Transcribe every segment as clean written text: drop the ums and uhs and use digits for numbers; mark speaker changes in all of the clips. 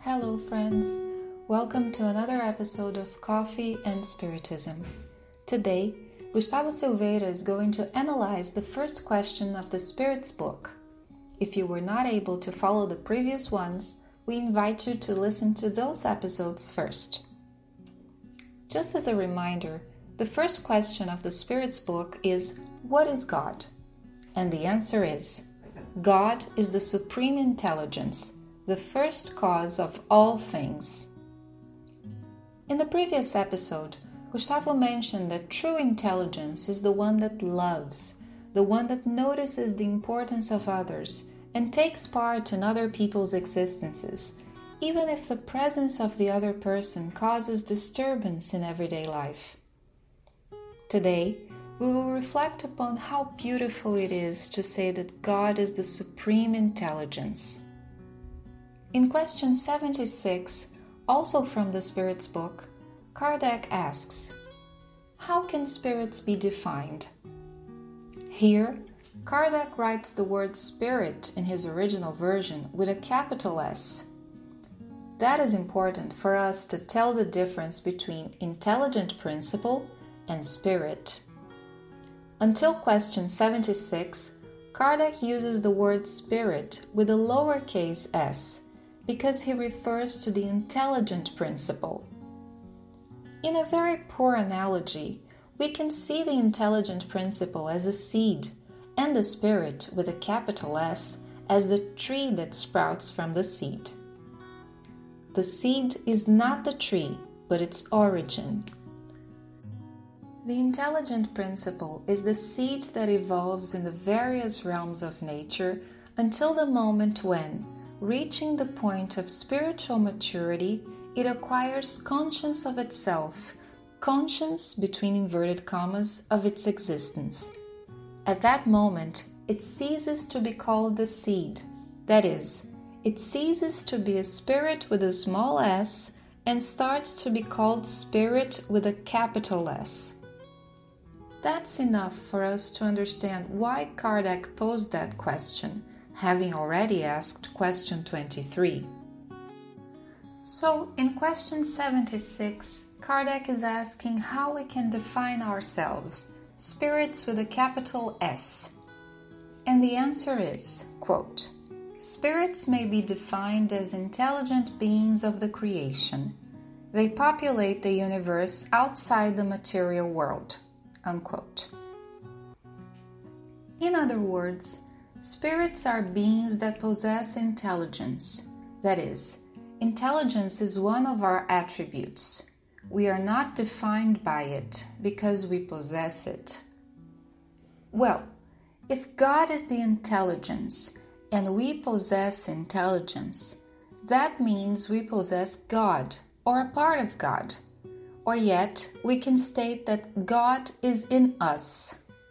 Speaker 1: Hello friends, welcome to another episode of Coffee and Spiritism. Today, Gustavo Silveira is going to analyze the first question of the Spirit's book. If you were not able to follow the previous ones, we invite you to listen to those episodes first. Just as a reminder, the first question of the Spirit's book is, what is God? And the answer is, God is the Supreme Intelligence, the first cause of all things. In the previous episode, Gustavo mentioned that true intelligence is the one that loves, the one that notices the importance of others and takes part in other people's existences, even if the presence of the other person causes disturbance in everyday life. Today, we will reflect upon how beautiful it is to say that God is the Supreme Intelligence. In question 76, also from the Spirit's book, Kardec asks, how can spirits be defined? Here, Kardec writes the word spirit in his original version with a capital S. That is important for us to tell the difference between intelligent principle and spirit. Until question 76, Kardec uses the word spirit with a lowercase s because he refers to the intelligent principle. In a very poor analogy, we can see the intelligent principle as a seed and the spirit with a capital S as the tree that sprouts from the seed. The seed is not the tree, but its origin. The intelligent principle is the seed that evolves in the various realms of nature until the moment when, reaching the point of spiritual maturity, it acquires conscience of itself, conscience, between inverted commas, of its existence. At that moment, it ceases to be called a seed, that is, it ceases to be a spirit with a small s and starts to be called spirit with a capital S. That's enough for us to understand why Kardec posed that question, having already asked question 23. So, in question 76, Kardec is asking how we can define ourselves, spirits with a capital S. And the answer is, quote, spirits may be defined as intelligent beings of the creation. They populate the universe outside the material world. Unquote. In other words, spirits are beings that possess intelligence. That is, intelligence is one of our attributes. We are not defined by it because we possess it. Well, if God is the intelligence and we possess intelligence, that means we possess God or a part of God. Or yet, we can state that God is in us.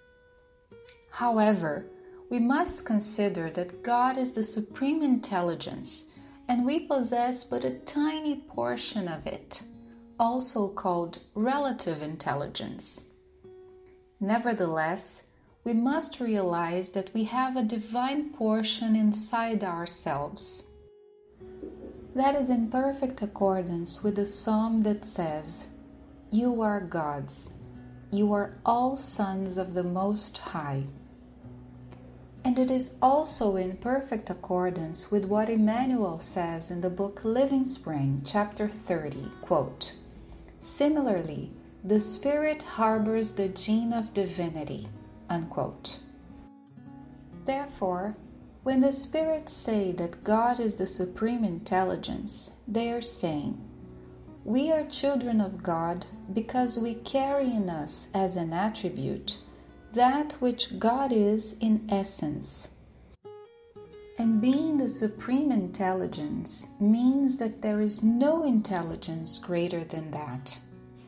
Speaker 1: However, we must consider that God is the Supreme Intelligence, and we possess but a tiny portion of it, also called relative intelligence. Nevertheless, we must realize that we have a divine portion inside ourselves. That is in perfect accordance with the psalm that says, you are God's. You are all sons of the Most High. And it is also in perfect accordance with what Emmanuel says in the book Living Spring, chapter 30, quote, similarly, the Spirit harbors the gene of divinity, unquote. Therefore, when the spirits say that God is the Supreme Intelligence, they are saying, we are children of God because we carry in us as an attribute that which God is in essence. And being the Supreme Intelligence means that there is no intelligence greater than that.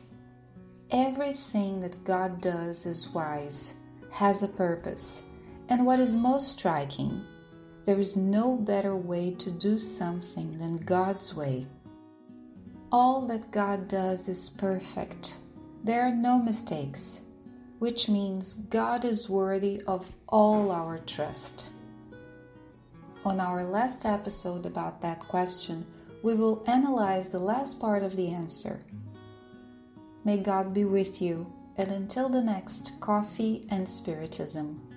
Speaker 1: Everything that God does is wise, has a purpose, and what is most striking, there is no better way to do something than God's way. All that God does is perfect. There are no mistakes, which means God is worthy of all our trust. On our last episode about that question, we will analyze the last part of the answer. May God be with you, and until the next Coffee and Spiritism.